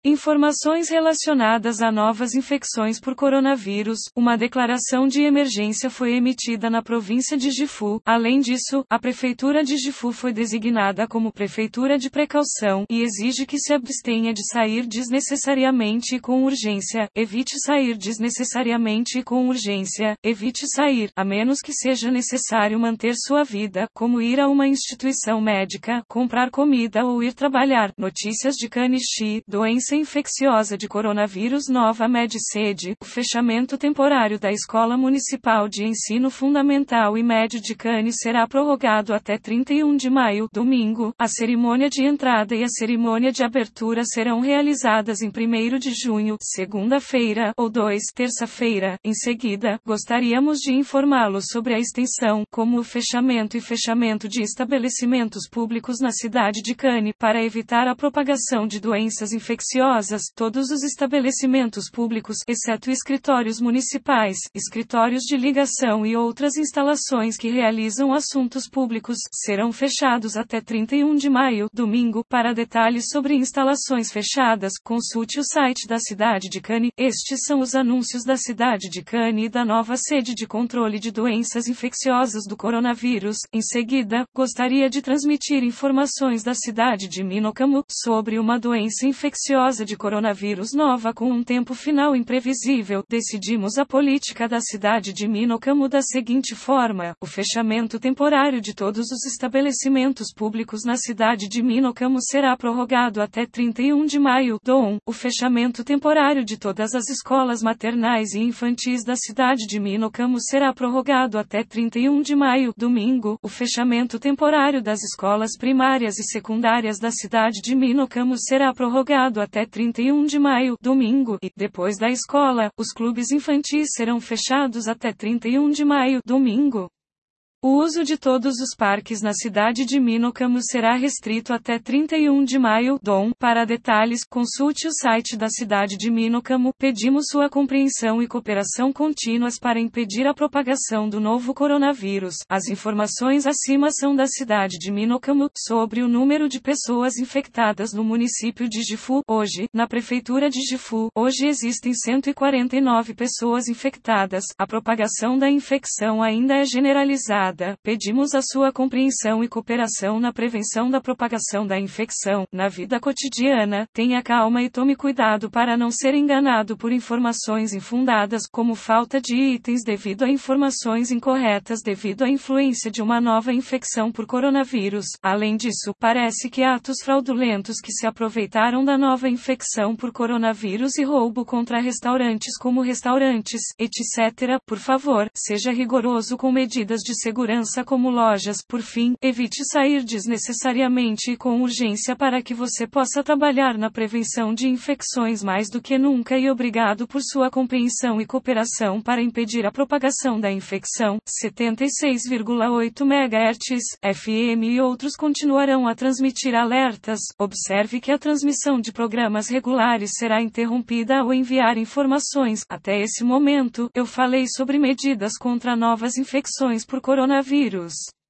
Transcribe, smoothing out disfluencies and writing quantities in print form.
Informações relacionadas a novas infecções por coronavírus. Uma declaração de emergência foi emitida na província de Gifu. Além disso, a prefeitura de Gifu foi designada como prefeitura de precaução e exige que se abstenha de sair desnecessariamente e com urgência. Evite sair desnecessariamente e com urgência. Evite sair, a menos que seja necessário manter sua vida, como ir a uma instituição médica, comprar comida ou ir trabalhar. Notícias de Kanixi. Doença infecciosa de coronavírus nova Med-Sede. O fechamento temporário da Escola Municipal de Ensino Fundamental e Médio de Cane será prorrogado até 31 de maio, domingo. A cerimônia de entrada e a cerimônia de abertura serão realizadas em 1º de junho, segunda-feira, ou 2, terça-feira. Em seguida, gostaríamos de informá-los sobre a extensão, como o fechamento de estabelecimentos públicos na cidade de Cane, para evitar a propagação de doenças infecciosas. Todos os estabelecimentos públicos, exceto escritórios municipais, escritórios de ligação e outras instalações que realizam assuntos públicos, serão fechados até 31 de maio, domingo. Para detalhes sobre instalações fechadas, consulte o site da cidade de Cane. Estes são os anúncios da cidade de Cane e da nova sede de controle de doenças infecciosas do coronavírus. Em seguida, gostaria de transmitir informações da cidade de Minocamo sobre uma doença infecciosa de coronavírus nova com um tempo final imprevisível. Decidimos a política da cidade de Minocamo da seguinte forma: o fechamento temporário de todos os estabelecimentos públicos na cidade de Minocamo será prorrogado até 31 de maio. O fechamento temporário de todas as escolas maternais e infantis da cidade de Minocamo será prorrogado até 31 de maio, domingo. O fechamento temporário das escolas primárias e secundárias da cidade de Minocamo será prorrogado até 31 de maio, domingo, e, depois da escola, os clubes infantis serão fechados até 31 de maio, domingo. O uso de todos os parques na cidade de Minocamo será restrito até 31 de maio. Para detalhes, consulte o site da cidade de Minocamo. Pedimos sua compreensão e cooperação contínuas para impedir a propagação do novo coronavírus. As informações acima são da cidade de Minocamo. Sobre o número de pessoas infectadas no município de Gifu, hoje, na prefeitura de Gifu, hoje existem 149 pessoas infectadas. A propagação da infecção ainda é generalizada. Pedimos a sua compreensão e cooperação na prevenção da propagação da infecção. Na vida cotidiana, tenha calma e tome cuidado para não ser enganado por informações infundadas, como falta de itens devido a informações incorretas devido à influência de uma nova infecção por coronavírus. Além disso, parece que atos fraudulentos que se aproveitaram da nova infecção por coronavírus e roubo contra restaurantes como restaurantes, etc. Por favor, seja rigoroso com medidas de segurança como lojas. Por fim, evite sair desnecessariamente e com urgência para que você possa trabalhar na prevenção de infecções mais do que nunca e obrigado por sua compreensão e cooperação para impedir a propagação da infecção. 76,8 MHz, FM e outros continuarão a transmitir alertas. Observe que a transmissão de programas regulares será interrompida ao enviar informações. Até esse momento, eu falei sobre medidas contra novas infecções por coronavírus.